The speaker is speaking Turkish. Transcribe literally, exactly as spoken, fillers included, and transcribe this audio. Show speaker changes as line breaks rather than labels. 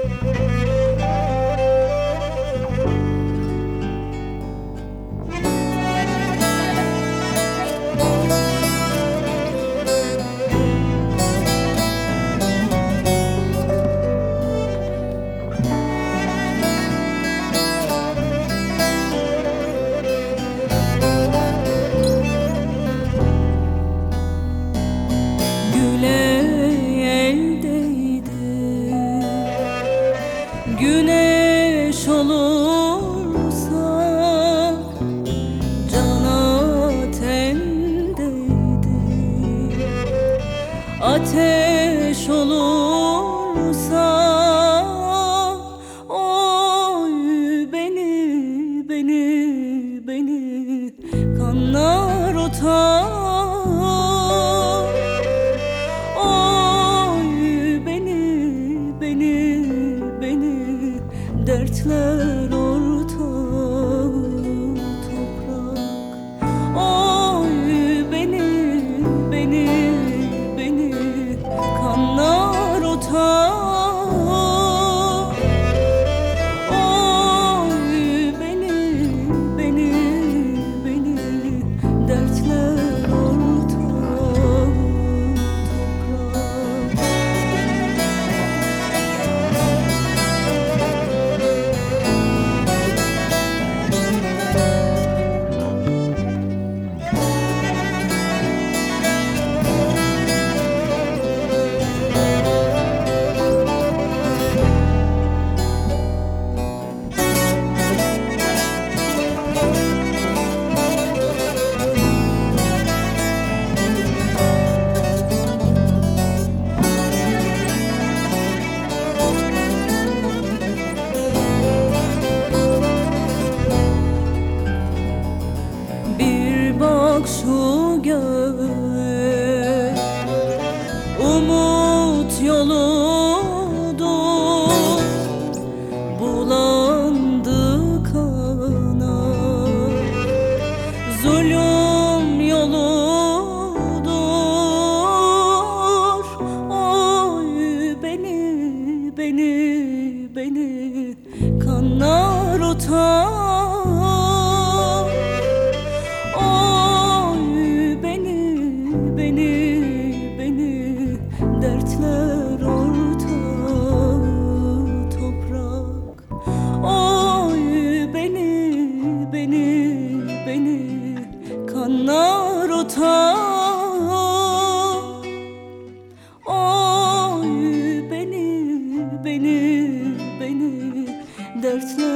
Güneş olursa cana tendeydi, ateş olursa oy beni, beni, beni kanlar otar. Dertler ortak toprak. Oy beni, beni, beni kanlar otar. Oy beni, beni, beni dertler ortak toprak. Bak şu göğe, umut yoludur, bulandı kana. Zulüm yoludur, oy beni, beni, beni kanlar otar. Dertler ortak toprak. Oy beni, beni, beni kanlar otar. Oy beni, beni, beni dertler